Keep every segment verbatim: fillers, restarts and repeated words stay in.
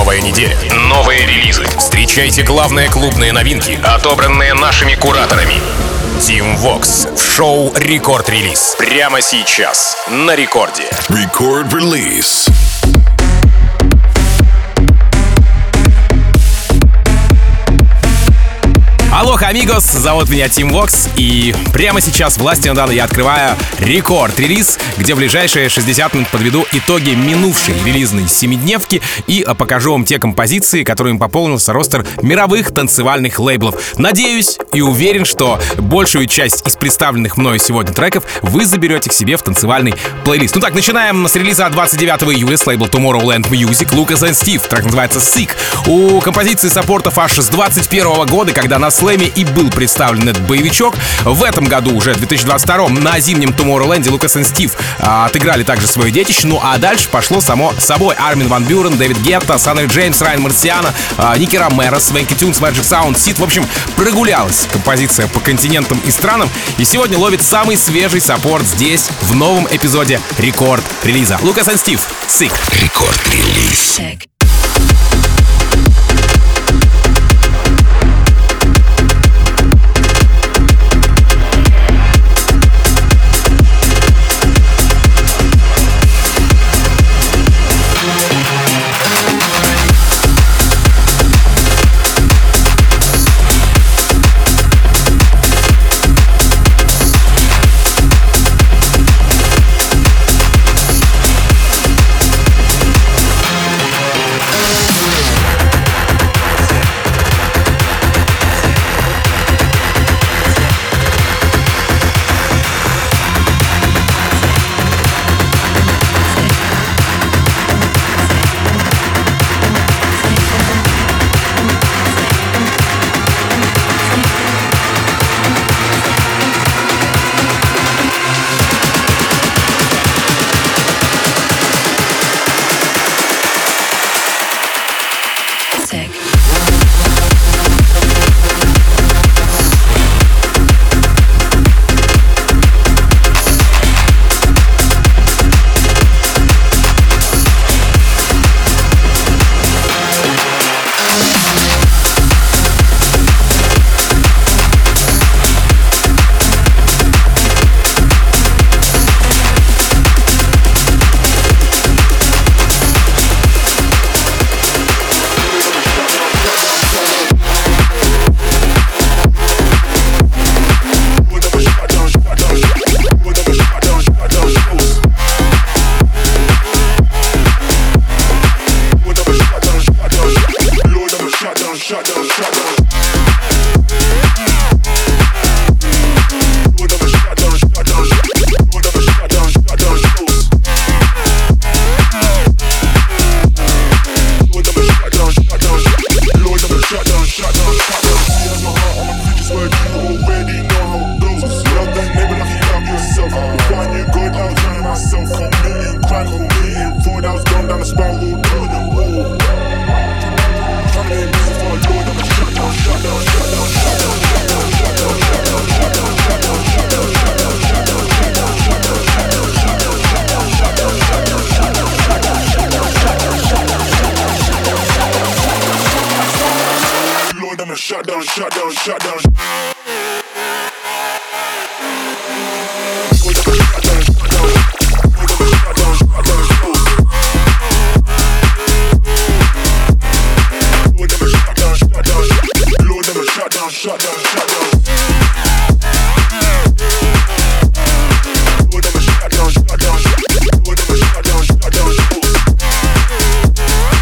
Новая неделя, новые релизы. Встречайте главные клубные новинки, отобранные нашими кураторами. Team Vox в шоу «Рекорд Релиз». Прямо сейчас на рекорде. Record Release. Алоха, амигос, зовут меня Team Vox, и прямо сейчас властью Дана я открываю рекорд-релиз, где в ближайшие шестьдесят минут подведу итоги минувшей релизной семидневки и покажу вам те композиции, которыми пополнился ростер мировых танцевальных лейблов. Надеюсь и уверен, что большую часть из представленных мною сегодня треков вы заберете к себе в танцевальный плейлист. Ну так, начинаем с релиза двадцать девятого июля с лейбла Tomorrowland Music, Lucas and Steve. Трек называется Sick. У композиции саппортов аж с двадцать первого года, когда на Слэме и был представлен этот боевичок. В этом году, уже в две тысячи двадцать втором, на зимнем Tomorrowland Lucas and Steve а, отыграли также свое детище. Ну а дальше пошло само собой. Армин Ван Бюрен, Дэвид Гетта, Саннер Джеймс, Райан Марсиано, а, Ники Ромеро, Свенки Тюнс, Magic Sound, Сид. В общем, прогулялась композиция по континентам и странам. И сегодня ловит самый свежий саппорт здесь, в новом эпизоде рекорд-релиза. Lucas and Steve, Sick. Рекорд-релиз.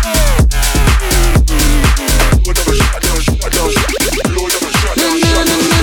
Na, na, na, na.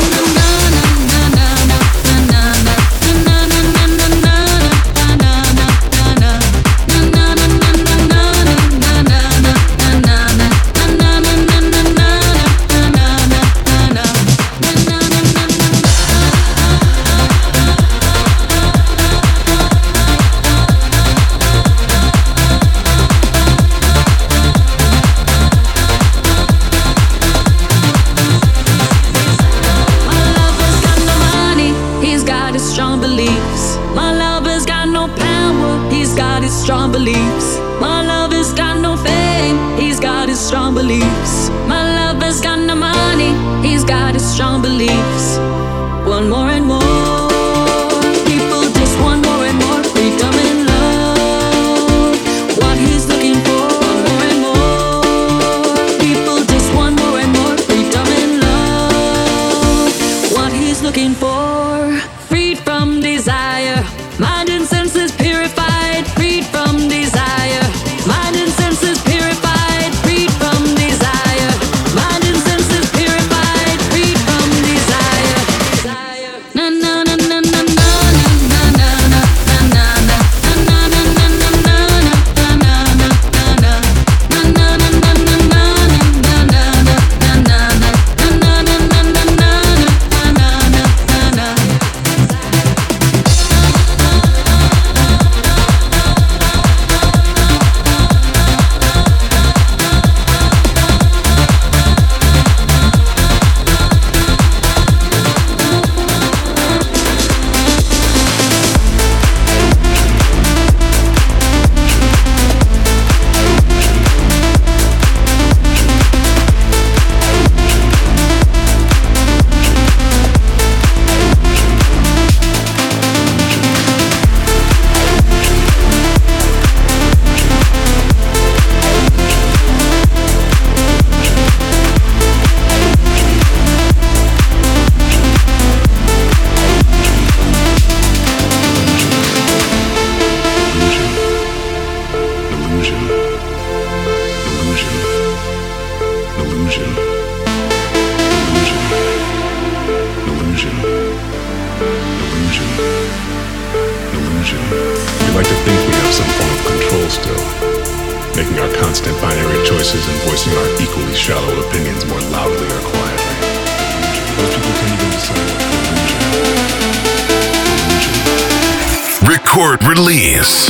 illusion. We like to think we have some form of control still, making our constant binary choices and voicing our equally shallow opinions more loudly or quietly. Most people can't even decide what illusion. Illusion. Record release.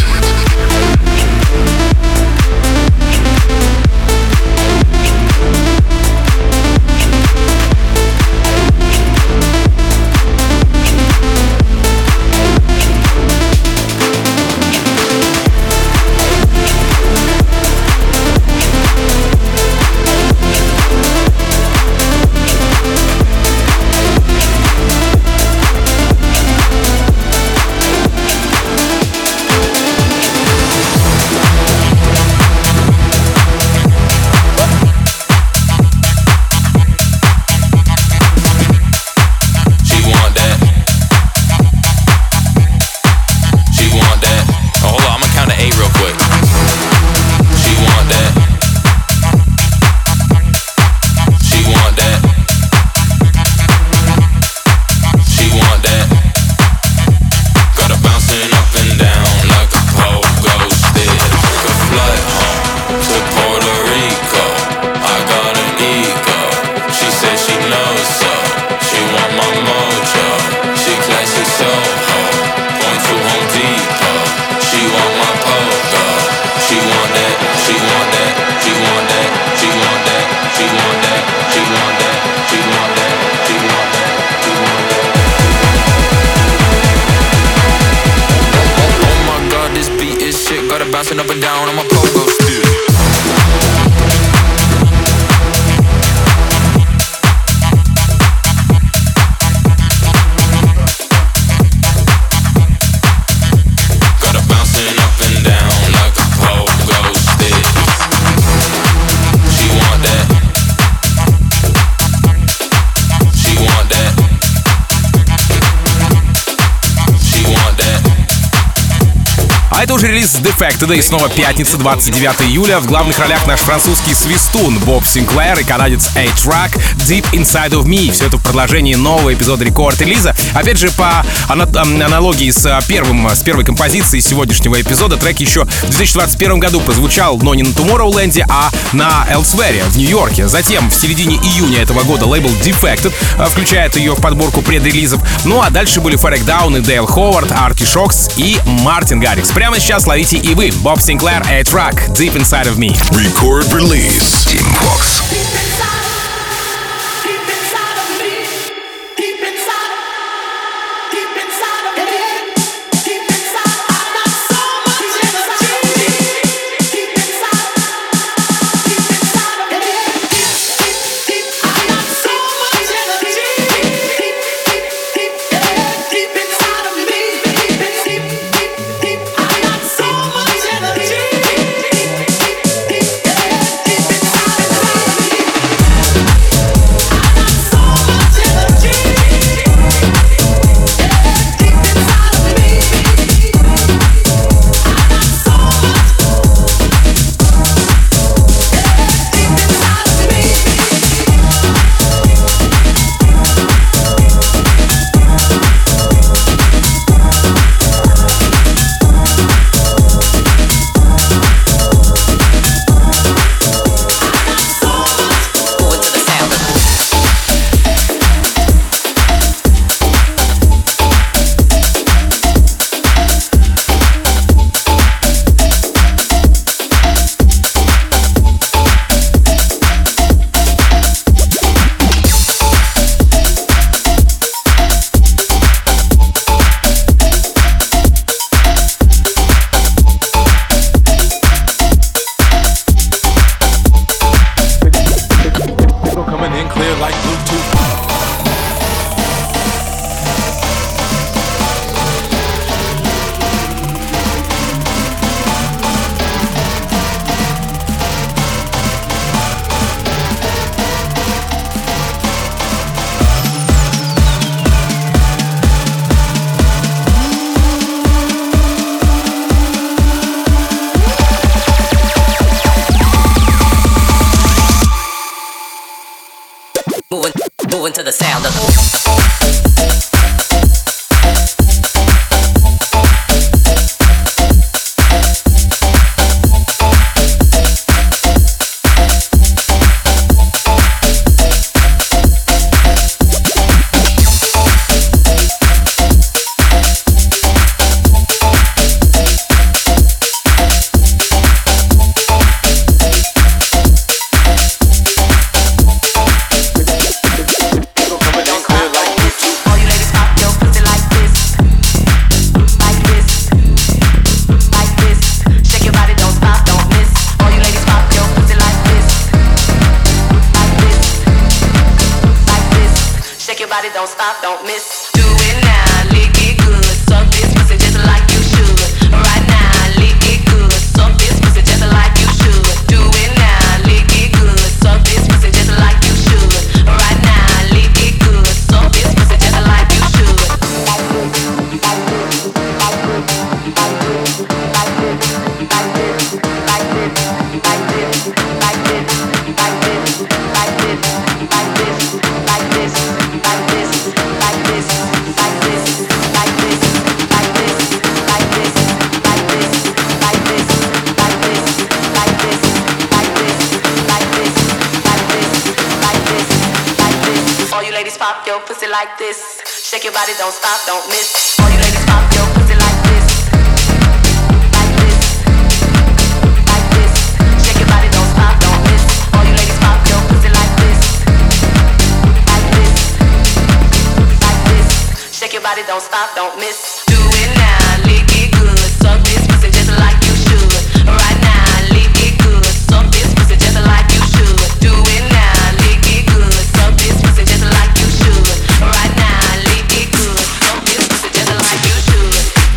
Bouncing up and down on my pogo stick. Got her bouncing up and down like a pogo stick. She want that. She want that. She want that. А это уже релиз Defected, и снова пятница, двадцать девятого июля. В главных ролях наш французский свистун Боб Синклер и канадец A-Track Deep Inside of Me. Все это в продолжении нового эпизода рекорд-релиза. Опять же, по аналогии с, первым, с первой композицией сегодняшнего эпизода, трек еще в две тысячи двадцать первом году прозвучал, но не на Tomorrowland, а на Elsewhere в Нью-Йорке. Затем, в середине июня этого года, лейбл Defected включает ее в подборку предрелизов. Ну а дальше были Ферек Даун и Дейл Ховард, Арти Шокс и Мартин Гаррикс. Прямо сейчас ловите и вы. Боб Синклер, A-Track, Deep Inside of Me. Record release. Team Vox. moving to the sound of the body, don't stop, don't miss. Do it now, lick it good. Suck this pussy just like you should. Right now, lick it good. Suck this pussy just like you should. Do it now, lick it good. Suck this pussy just like you should. Right now, lick it good. Suck this pussy just like you should. Pop your pussy like this. Shake your body, don't stop, don't miss. All you ladies pop your pussy like this. Like this. Like this. Shake your body, don't stop, don't miss. All you ladies pop your pussy like this. Like this. Like this. Shake your body, don't stop, don't miss. Do it now, lick it good. Suck this pussy just like you should. Right now, lick it good. Suck this pussy just like you should. Do it now, lick it good. Suck this pussy just like you should. Right now, lick it good. Suck this pussy just like you should.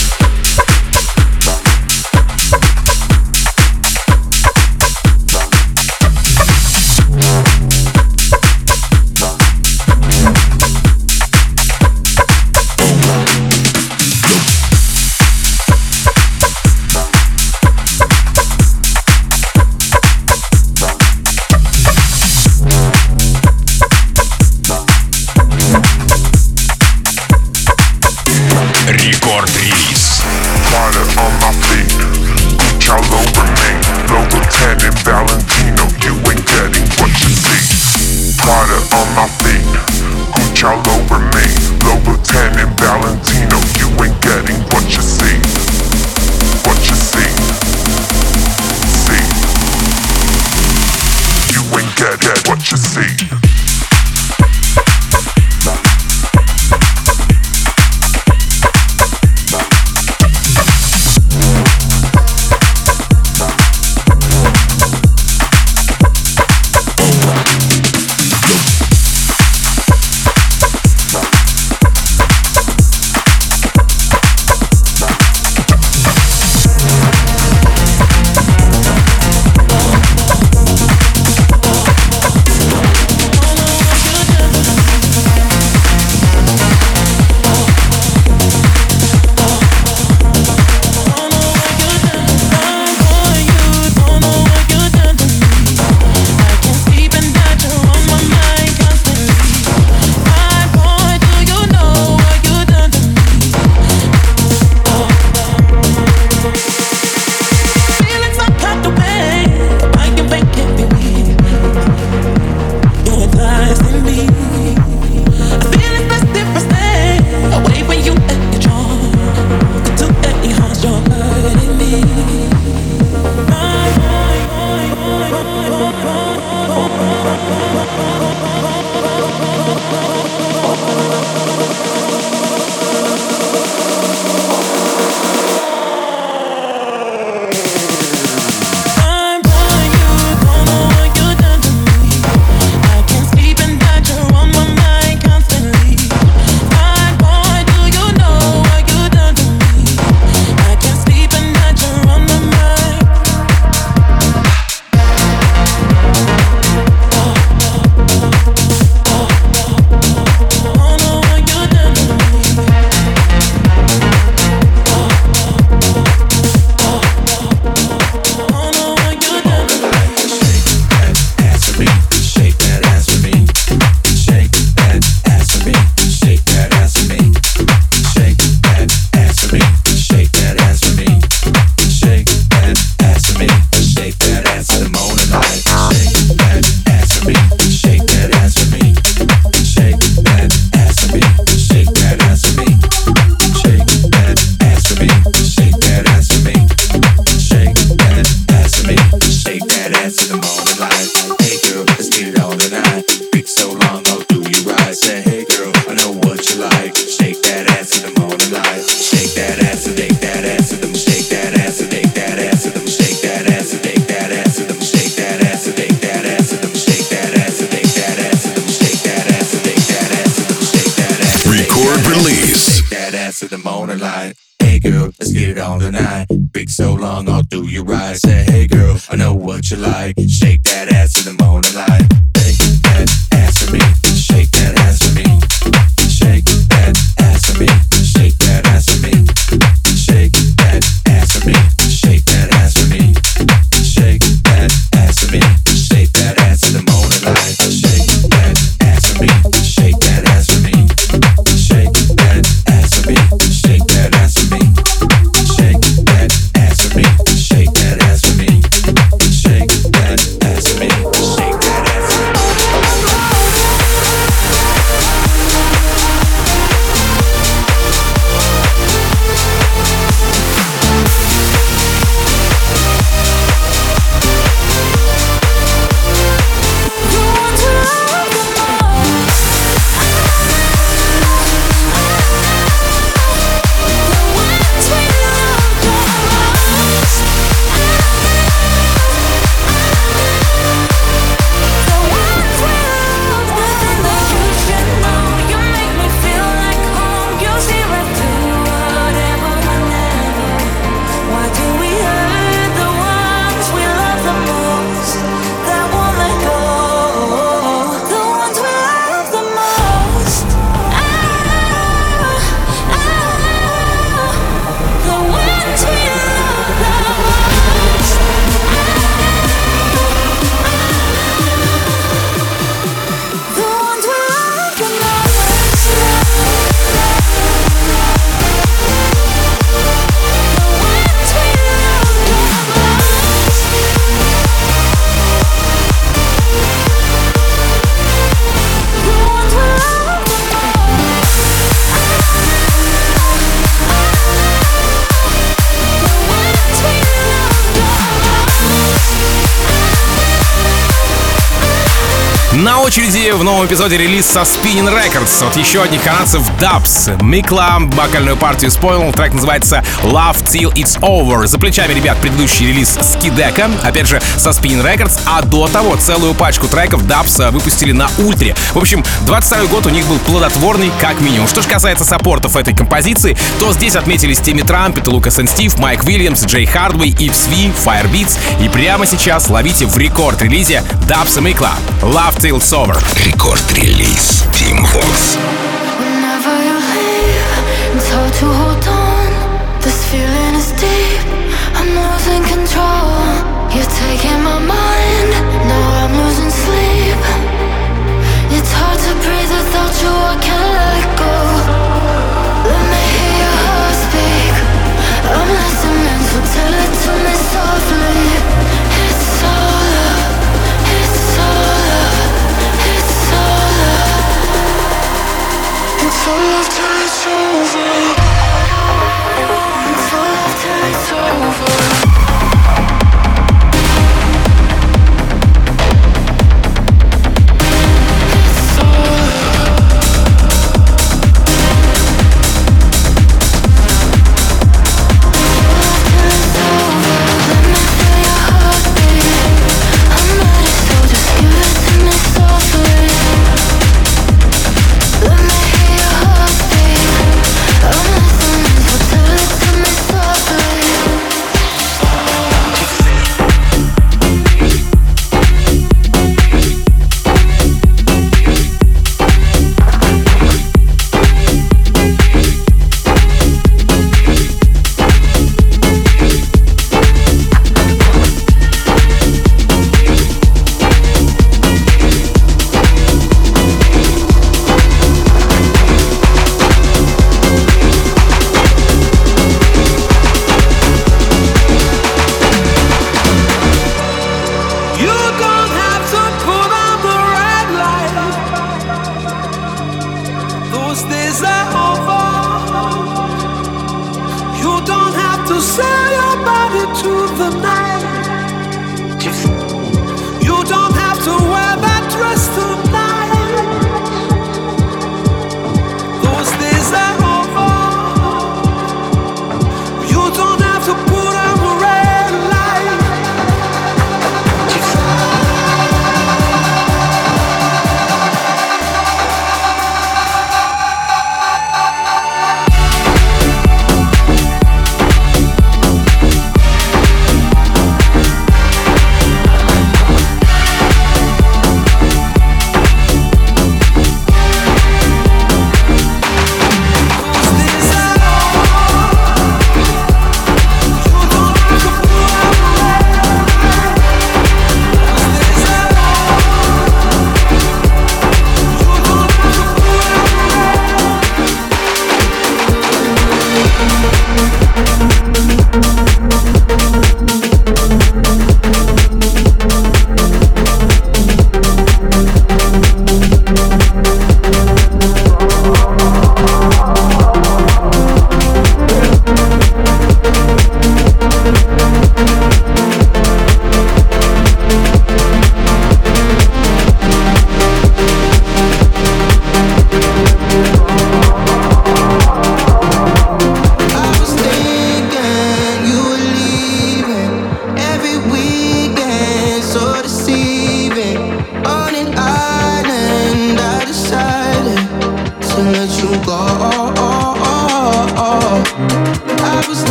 Рекорд-релиз. Prada on my feet, Gucci all over me. Louboutin and Valentino, you ain't getting what you see. Prada on my feet, Gucci all over me. Louboutin and Valentino, you ain't getting what you see. What you see. See. You ain't get, get what you see. girl, let's get it on tonight. Big so long, I'll do you right. Say, hey girl, I know what you like. Shake that ass in the morning light. Shake that ass for me. Shake that ass for me. Shake that ass for me. Shake that ass for me. Shake that ass for me. Shake that ass for me. Shake that ass for me. Shake that ass in the morning light. Shake that ass for me. Shake that ass for me. Shake that ass for me. Shake that ass for me. Shake that ass for me. Shake that ass for me. Shake that ass for me. Shake that ass for me. На очереди в новом эпизоде релиз со Spinnin' Records от еще одних канадцев Dubs. Микла вокальную партию исполнил, трек называется Love Till It's Over. За плечами, ребят, предыдущий релиз Skideka, опять же со Spinnin' Records, а до того целую пачку треков Dubs выпустили на Ультре. В общем, двадцать второй год у них был плодотворный как минимум. Что же касается саппортов этой композиции, то здесь отметились Тимми Трампет, Лукас энд Стив, Майк Уильямс, Джей Хардвей, Ипс Ви, Firebeats. И прямо сейчас ловите в рекорд-релизе Dubs и Микла Love Till It's Over. Рекорд-релиз Team Vox. Whenever you leave, it's hard to hold on. This feeling is deep, I'm losing control. You're taking my mind, now I'm losing sleep. It's hard to breathe without you, I can't let go. Let me hear your heart speak, I'm listening, so tell it to me softly. It's all up, it's all up, it's all up. It's all up till it's over. It's all up till it's over.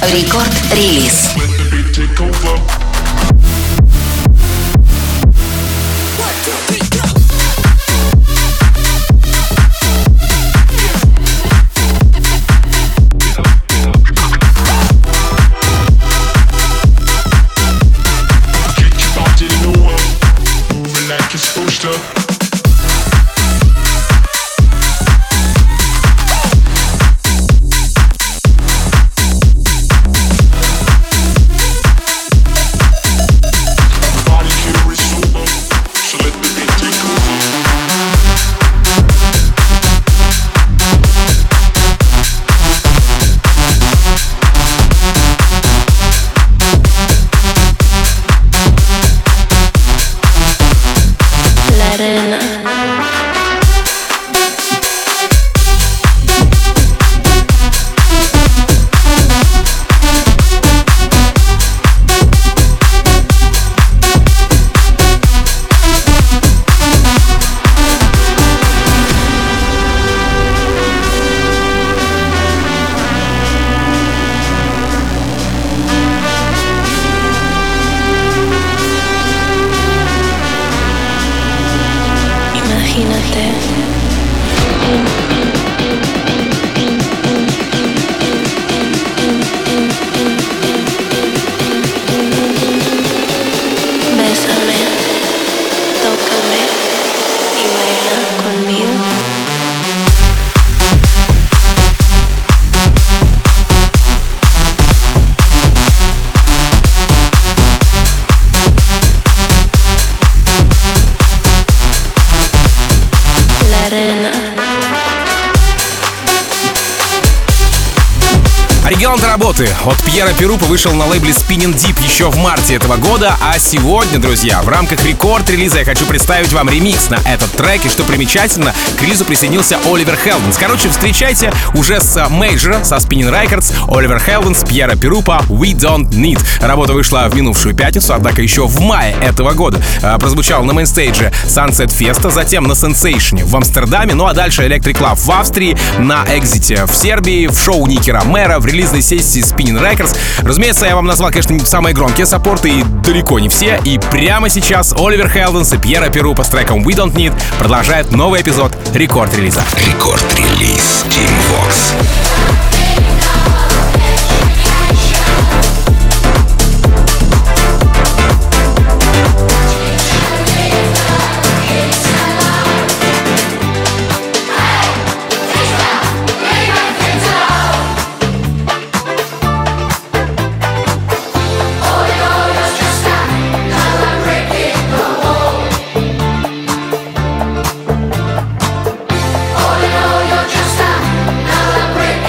Рекорд-релиз. Оригинал работы от Пьера Перупа вышел на лейбле Spinning Deep еще в марте этого года, а сегодня, друзья, в рамках рекорд-релиза я хочу представить вам ремикс на этот трек, и что примечательно, к релизу присоединился Оливер Хелденс. Короче, встречайте уже с мейджора, со Spinning Records, Оливер Хелденс, Пьера Перупа, We Don't Need. Работа вышла в минувшую пятницу, однако еще в мае этого года э, прозвучал на мейнстейдже Sunset Festa, затем на Sensation в Амстердаме, ну а дальше Electric Club в Австрии, на Экзите в Сербии, в шоу Ники Ромеро, в релизной сессии Spinning Records. Разумеется, я вам назвал, конечно, не самые громкие саппорты, и далеко не все. И прямо сейчас Оливер Хелденс и Пьера Перупа с треком We Don't Need продолжают новый эпизод рекорд-релиза. Рекорд-релиз Team Vox. Break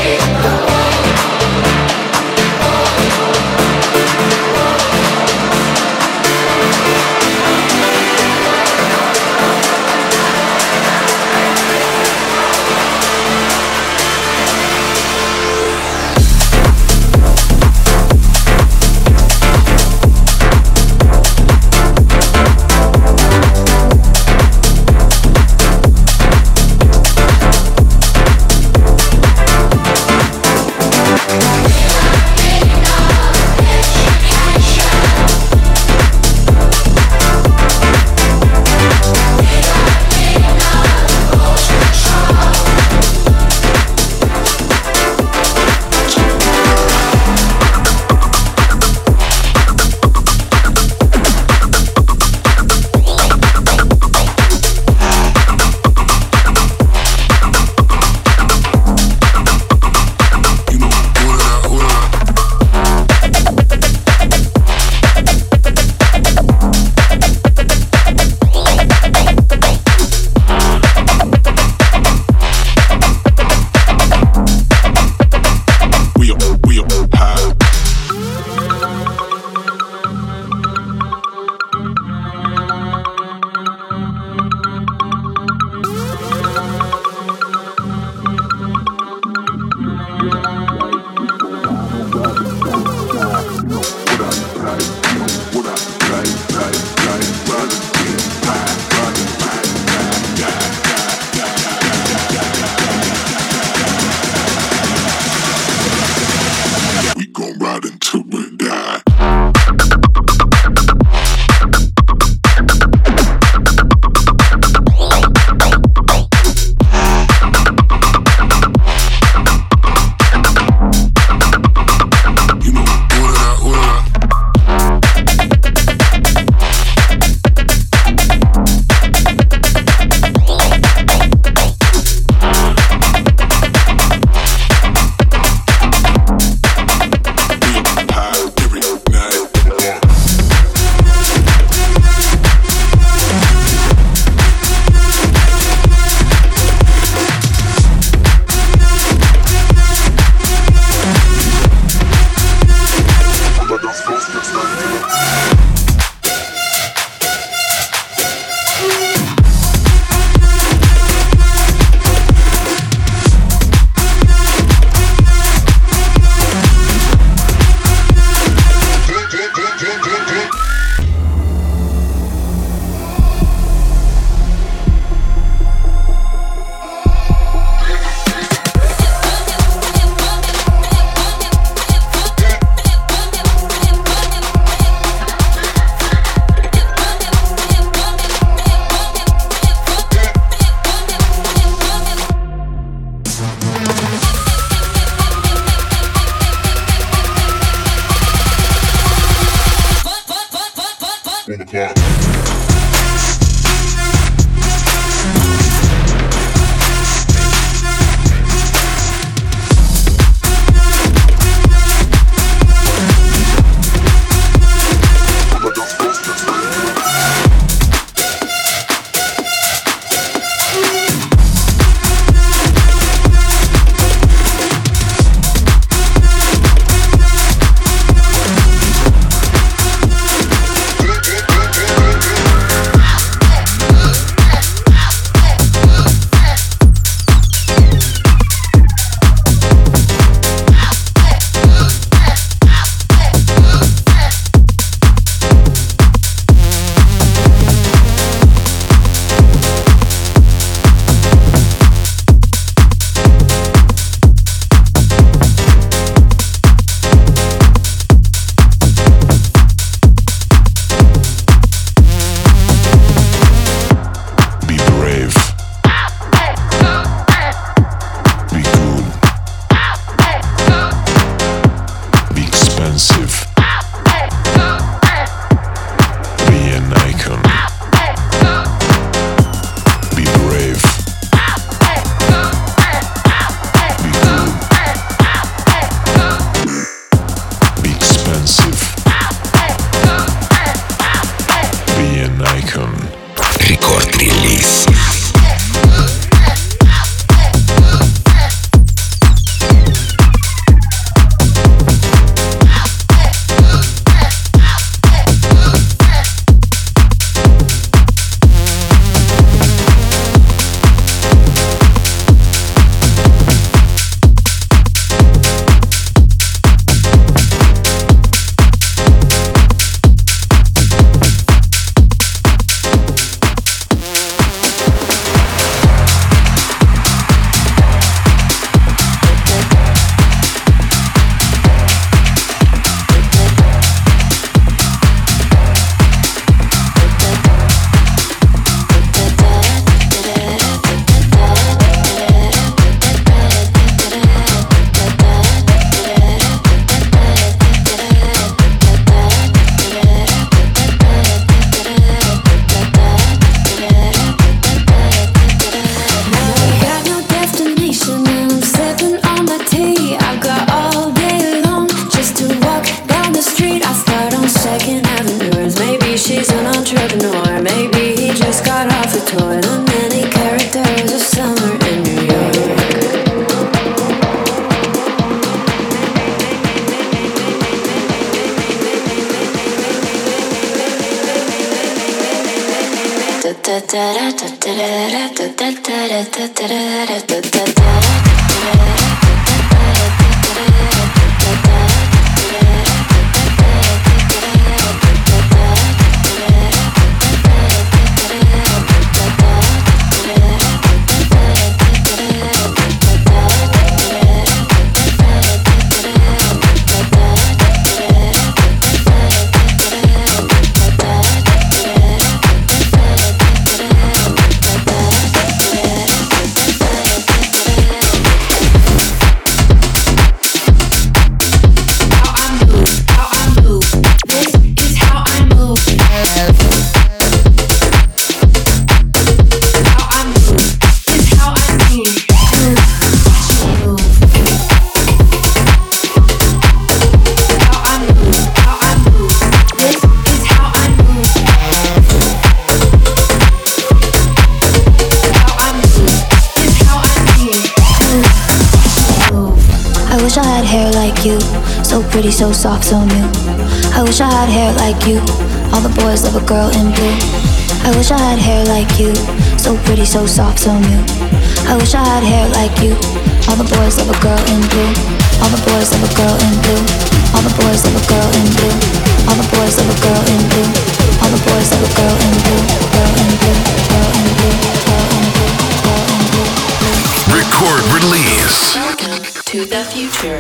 So pretty, so soft, so new. I wish I had hair like you. All the boys love a girl in blue. I wish I had hair like you. So pretty, so soft, so new. I wish I had hair like you. All the boys love a girl in blue. All the boys love a girl in blue. All the boys love a girl in blue. All the boys love a girl in blue. All the boys love a girl in blue. Girl in blue. Girl in blue. Girl in blue. Girl in blue. Record release. Welcome to the future.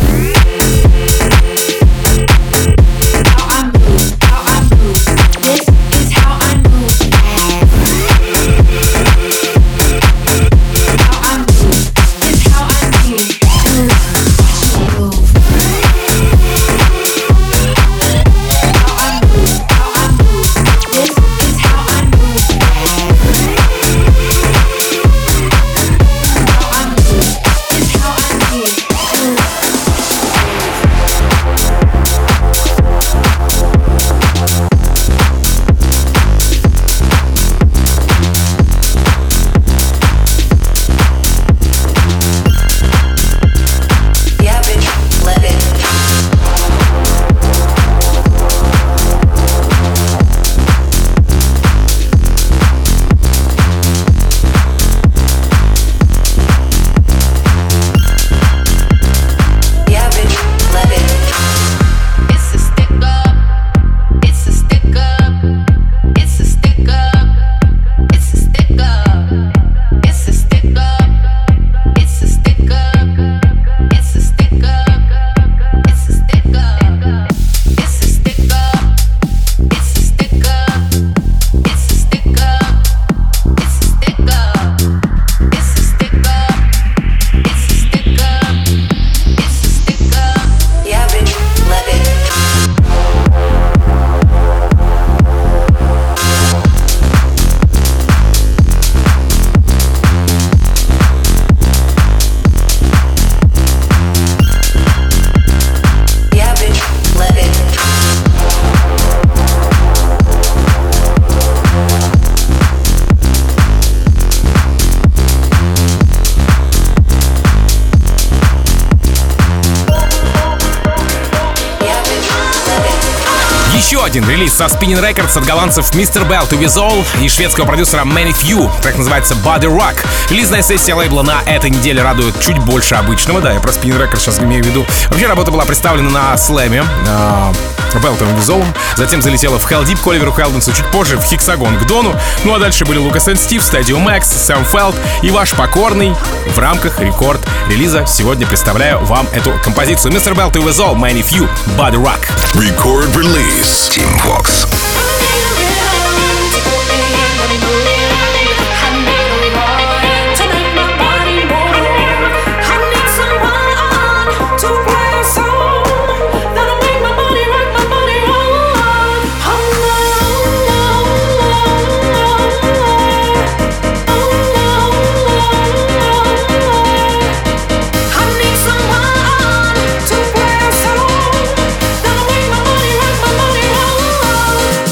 Еще один релиз со Spinnin' Records от голландцев мистер Bell to With All и шведского продюсера Many Few. Трек называется Body Rock. Релизная сессия лейбла на этой неделе радует чуть больше обычного. Да, я про Spinnin' Records сейчас имею в виду. Вообще работа была представлена на слэме э, Bell to With All. Затем залетела в Hell Deep к Оливеру Хелденсу, чуть позже в Hexagon к Дону. Ну а дальше были Lucas and Steve, Stadium Max, Сэм Фелд и ваш покорный в рамках рекорд релиза. Сегодня представляю вам эту композицию. мистер Bell to With All, Many Few, Body Rock. Record release. Team Vox. Someone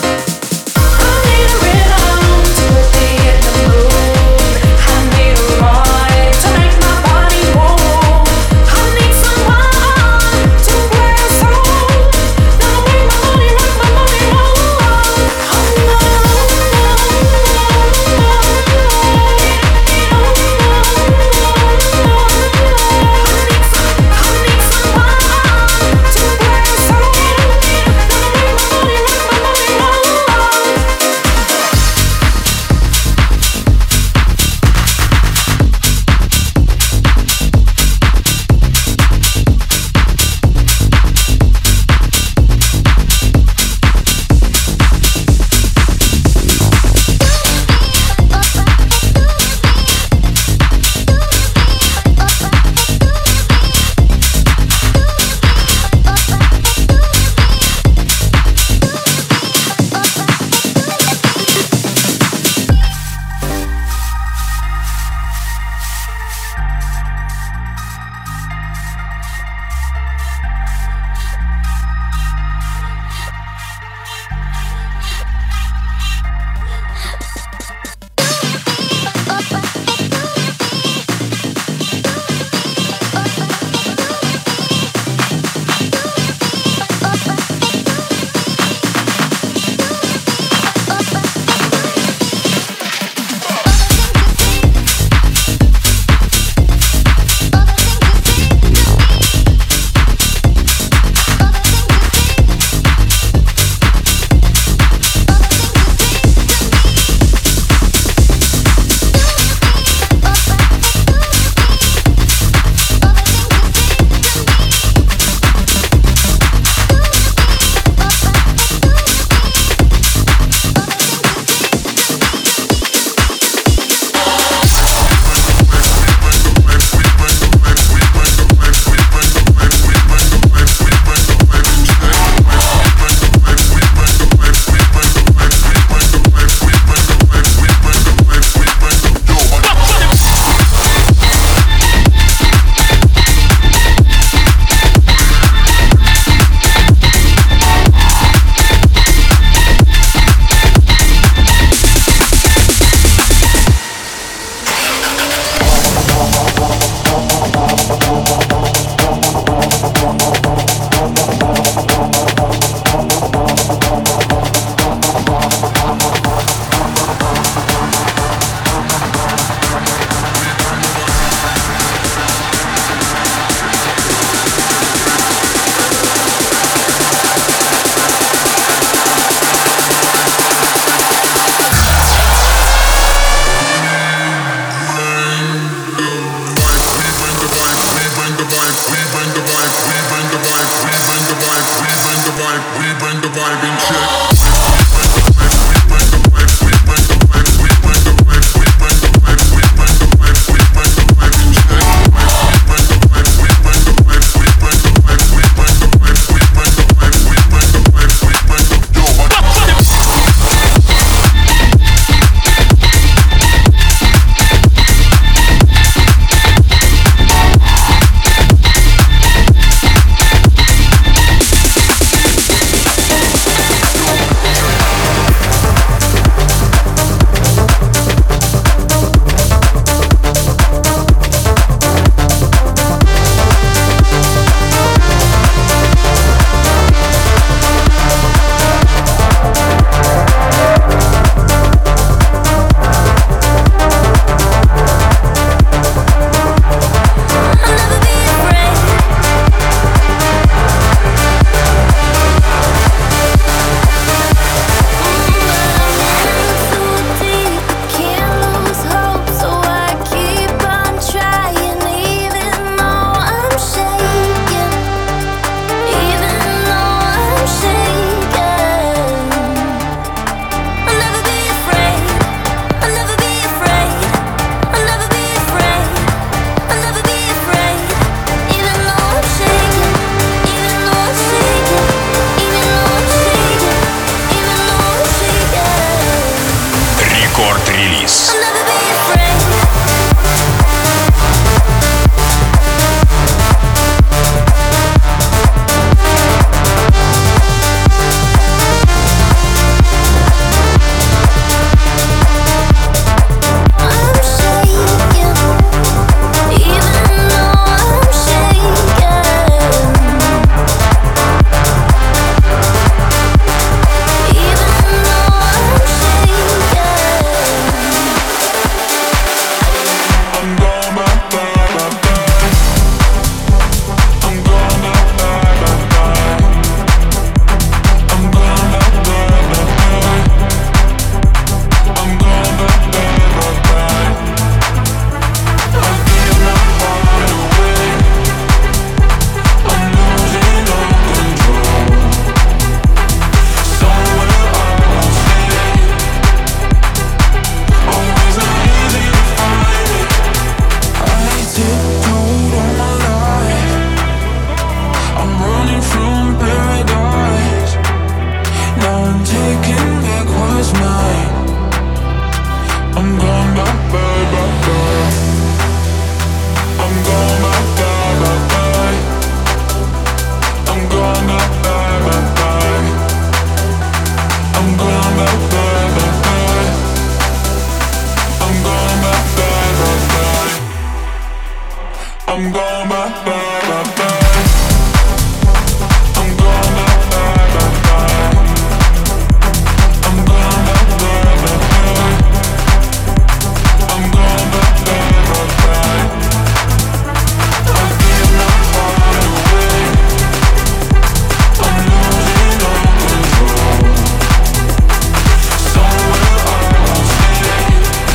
I'm going bye, bye, bye, bye. I'm going bye, bye, bye, bye. I'm going bye, bye, bye, bye. I'm going bye, bye, bye, bye. I'm feeling my heart away. I'm losing all control. Somewhere I won't stay.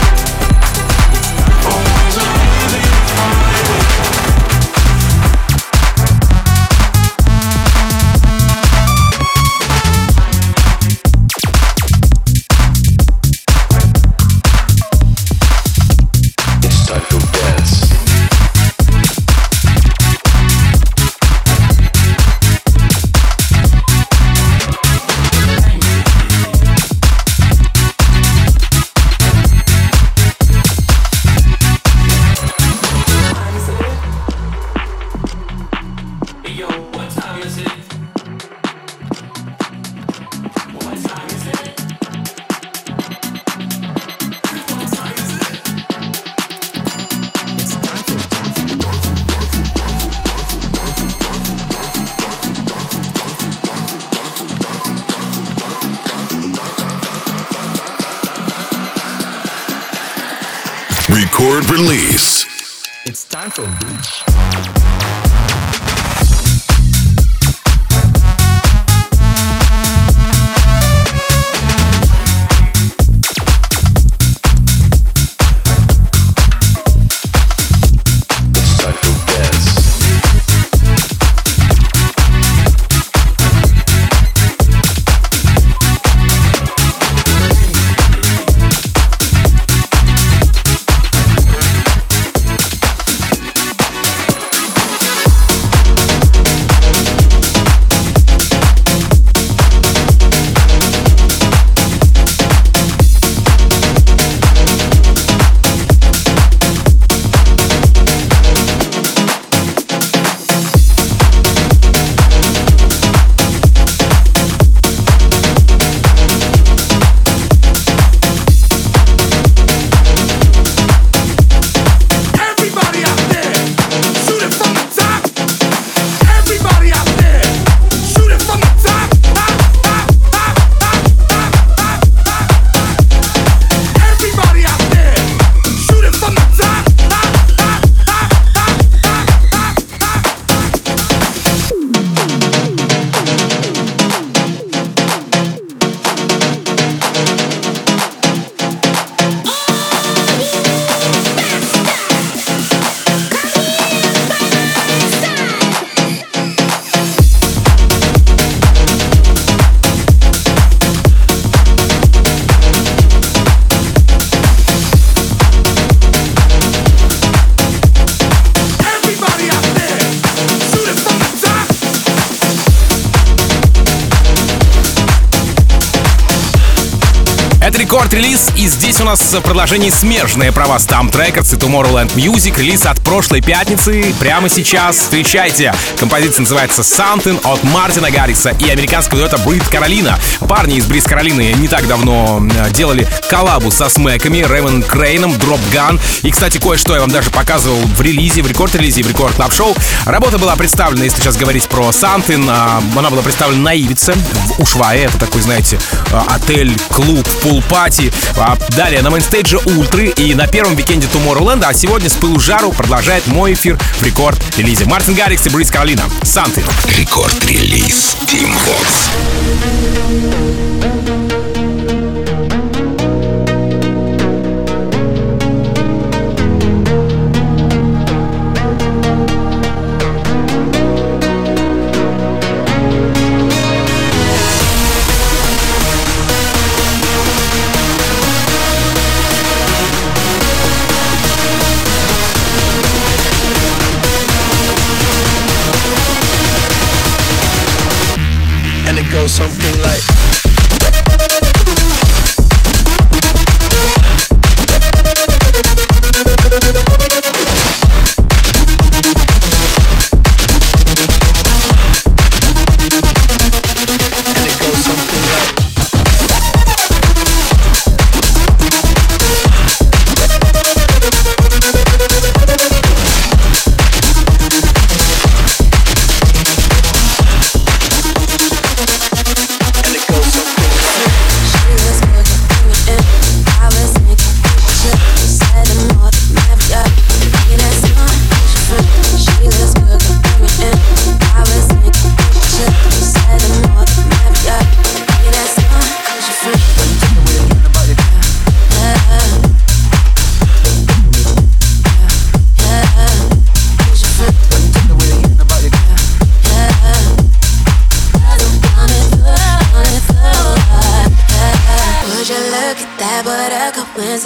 Always a really highway. It's time to dance. Record release. It's time for Bleach. It's time to dance. Everybody out there, shoot it from the top. Everybody out there, shoot it from the top. Everybody out there, shoot it from the top. Everybody out there, shoot it from the top. Это рекорд-релиз, и здесь у нас в продолжении смежные права Stamp Records и Tomorrowland Music. Релиз от прошлой пятницы. Прямо сейчас встречайте. Композиция называется Something от Мартина Гаррикса и американского дуэта Брит Каролина. Парни из Бриз Каролины не так давно делали коллабу со смэками, Рэйвен Крейном, Drop Gun. И, кстати, кое-что я вам даже показывал в релизе, в рекорд-релизе, в рекорд клаб шоу. Работа была представлена, если сейчас говорить про Something, она была представлена на Ивице, в Ушвае. Это такой, знаете, отель, клуб, пул-пати. Далее на мейнстейдже Ультры и на первом викенде Tomorrowland. А сегодня с пылу жару продолжает мой эфир в рекорд-релизе. Мартин Гаррикс и Бриз Каролина. Something. Рекорд-релиз. Team Vox. And it goes something like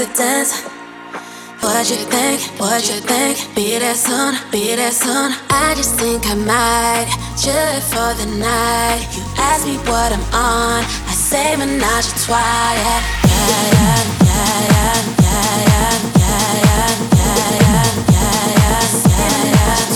to dance. What you think, what you think? Be there soon, be there soon. I just think I might chill for the night. You ask me what I'm on, I say menage a trois. Yeah, yeah, yeah, yeah, yeah, yeah, yeah, yeah, yeah, yeah, yeah, yeah, yeah,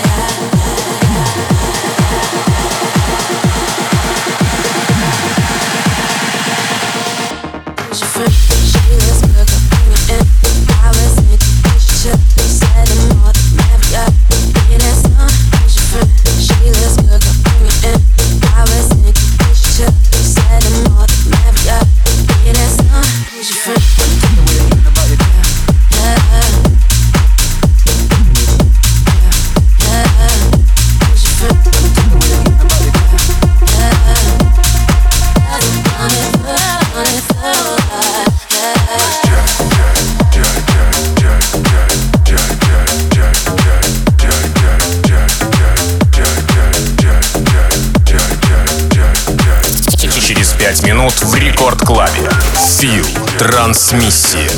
пять минут в рекорд-клабе. Фил. Трансмиссия.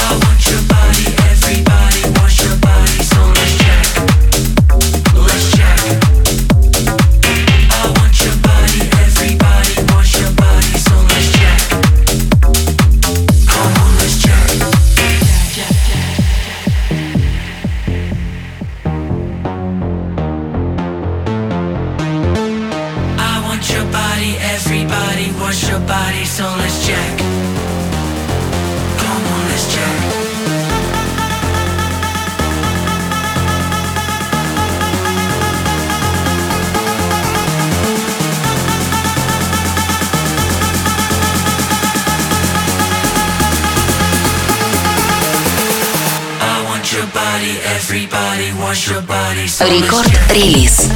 Рекорд-релиз.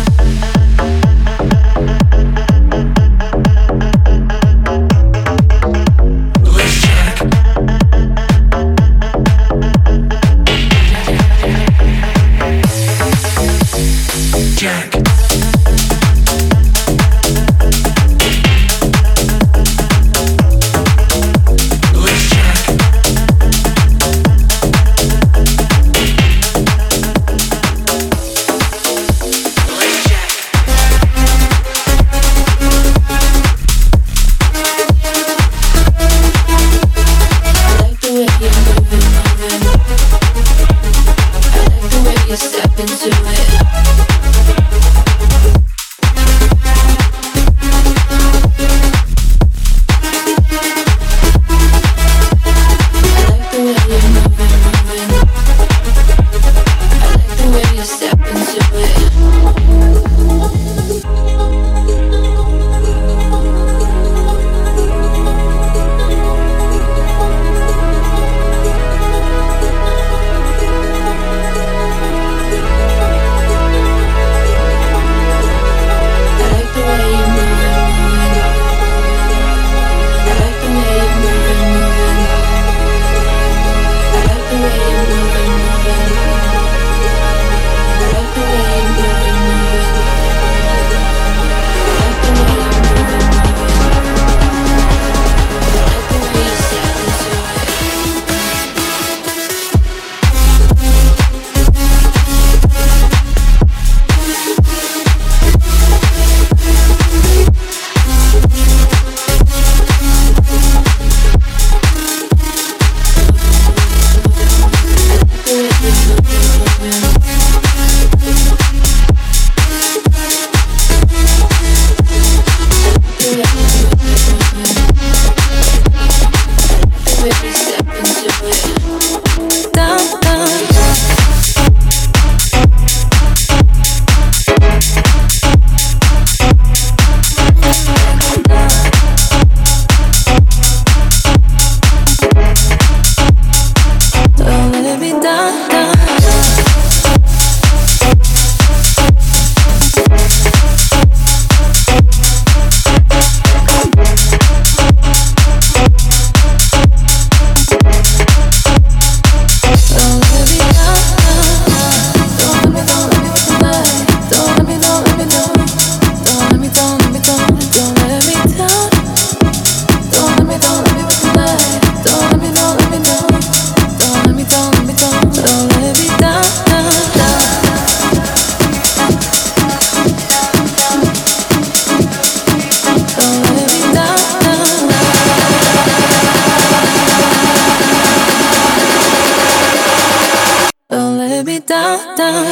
lay me down, down.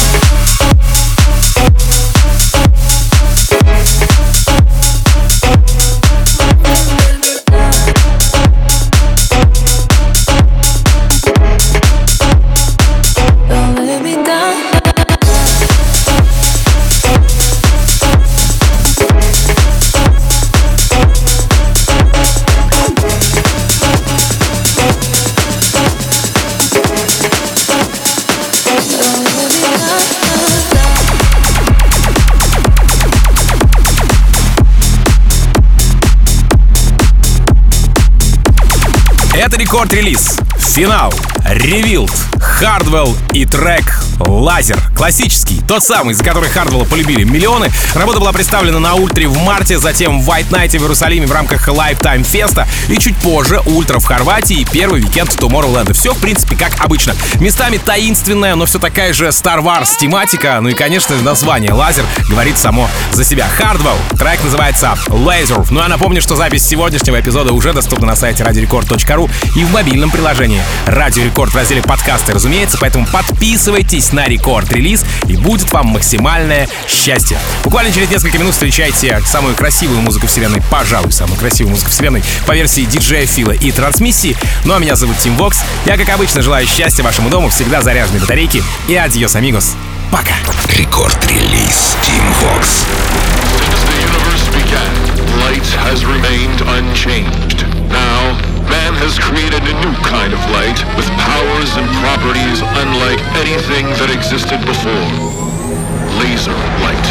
Это рекорд-релиз. Финал. Revealed, Hardwell и трек «Лазер». Классический, тот самый, за который Hardwell полюбили миллионы. Работа была представлена на Ультре в марте, затем в White Night в Иерусалиме в рамках Lifetime Festa и чуть позже Ультра в Хорватии и первый уикенд Tomorrowland. Все, в принципе, как обычно. Местами таинственная, но все такая же Star Wars тематика. Ну и, конечно, название «Лазер» говорит само за себя. Hardwell. Трек называется «Laser». Ну а напомню, что запись сегодняшнего эпизода уже доступна на сайте радио рекорд точка ру и в мобильном приложении «Радио Рекорд» в разделе «Подкасты», разумеется, поэтому подписывайтесь на рекорд-релиз и будет вам максимальное счастье. Буквально через несколько минут встречайте самую красивую музыку вселенной, пожалуй, самую красивую музыку вселенной по версии диджея Фила и трансмиссии. Ну а меня зовут Тим Вокс. Я, как обычно, желаю счастья вашему дому, всегда заряженной батарейки и адьос, амигос. Пока. Рекорд-релиз Тим Вокс. Since the universe began, light has remained unchanged. Now, man has created a new kind of light with powers and properties unlike anything that existed before. Laser light.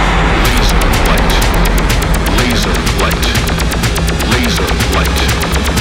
Laser light. Laser light. Laser light.